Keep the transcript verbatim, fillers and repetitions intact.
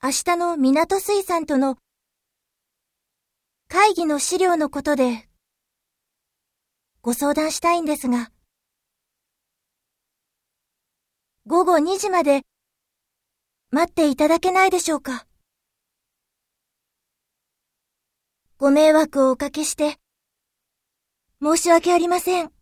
明日の港水産との会議の資料のことでご相談したいんですが、午後にじまで待っていただけないでしょうか。ご迷惑をおかけして申し訳ありません。